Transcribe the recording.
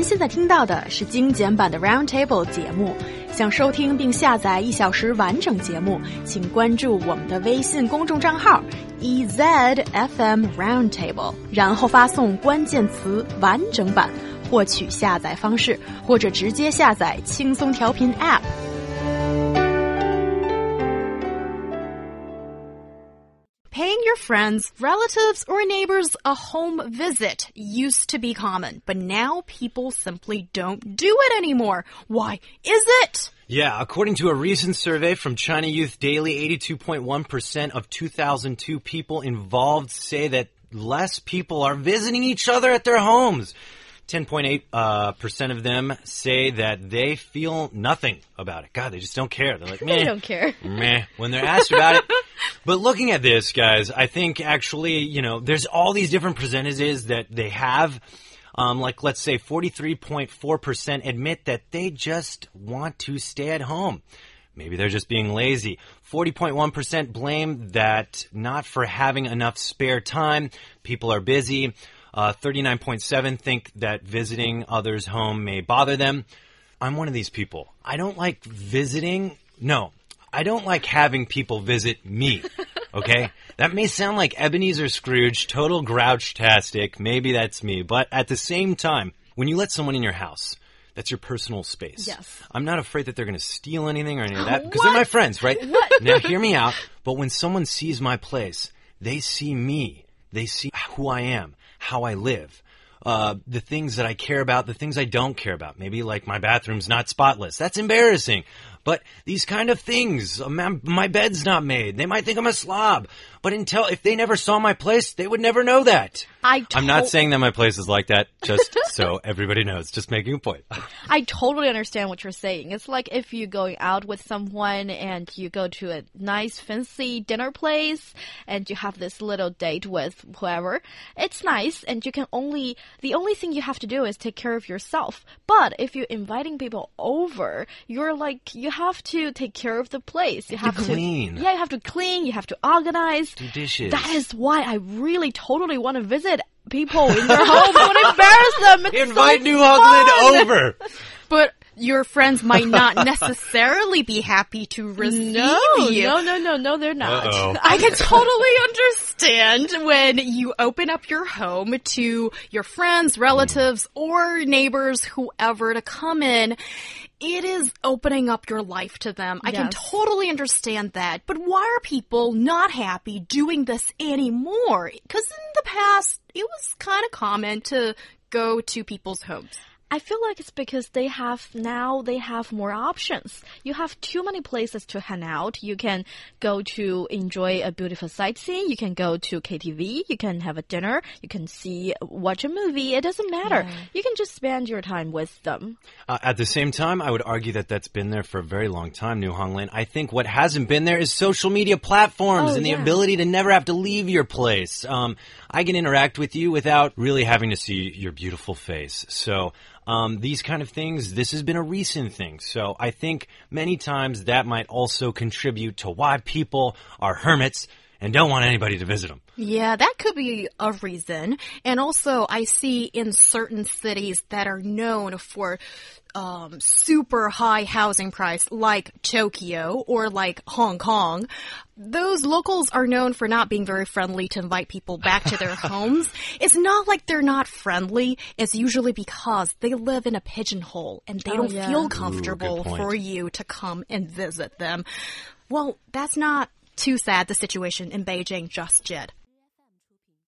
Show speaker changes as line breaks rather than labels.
现在听到的是精简版的 Roundtable 节目。想收听并下载1小时完整节目，请关注我们的微信公众账号 EZFM Roundtable， 然后发送关键词完整版获取下载方式，或者直接下载轻松调频 App。Paying your friends, relatives, or neighbors a home visit used to be common, but now people simply don't do it anymore. Why is it?
Yeah, according to a recent survey from China Youth Daily, 82.1% of 2002 people involved say that less people are visiting each other at their homes. 10.8% of them say that they feel nothing about it. God, they just don't care. They're like, meh.
They don't care.
Meh, when they're asked about it. But looking at this, guys, I think actually, there's all these different percentages that they have. Like, let's say 43.4% admit that they just want to stay at home. Maybe they're just being lazy. 40.1% blame that not for having enough spare time. People are busy. 39.7 think that visiting others' home may bother them. I'm one of these people. I don't like visiting. No, I don't like having people visit me. Okay? That may sound like Ebenezer Scrooge, total grouch-tastic. Maybe that's me. But at the same time, when you let someone in your house, that's your personal space.
Yes.
I'm not afraid that they're going to steal anything or any of that because they're my friends, right?
What?
Now, hear me out. But when someone sees my place, they see me. They see who I am, how I live, the things that I care about, the things I don't care about. Maybe like my bathroom's not spotless. That's embarrassing. But these kind of things, my bed's not made. They might think I'm a slob. But if they never saw my place, they would never know that. I'm not saying that my place is like that, just so everybody knows. Just making a point.
I totally understand what you're saying. It's like if you're going out with someone and you go to a nice fancy dinner place and you have this little date with whoever. It's nice and the only thing you have to do is take care of yourself. But if you're inviting people over, you have to take care of the place. You have to
clean.
Yeah, you have to clean, you have to organize.
Do dishes.
That is why I really totally want to visit people in their home. I want to embarrass them. It's
Invite
so
New
fun.
Hogland over.
But your friends might not necessarily be happy to receive you.
No, they're not.
Uh-oh.
I can totally understand when you open up your home to your friends, relatives, or neighbors, whoever to come in. It is opening up your life to them. I can totally understand that. But why are people not happy doing this anymore? Because in the past, it was kind of common to go to people's homes.
I feel like it's because they have more options. You have too many places to hang out. You can go to enjoy a beautiful sightseeing. You can go to KTV. You can have a dinner. You can watch a movie. It doesn't matter. Yeah. You can just spend your time with them.
At the same time, I would argue that that's been there for a very long time, New Hongland. I think what hasn't been there is social media platforms and the ability to never have to leave your place. I can interact with you without really having to see your beautiful face. So these kind of things, this has been a recent thing. So I think many times that might also contribute to why people are hermits and don't want anybody to visit them.
Yeah, that could be a reason. And also, I see in certain cities that are known for super high housing price, like Tokyo or like Hong Kong, those locals are known for not being very friendly to invite people back to their homes. It's not like they're not friendly. It's usually because they live in a pigeonhole and they don't feel comfortable for you to come and visit them. Well, that's not too sad, the situation in Beijing just yet.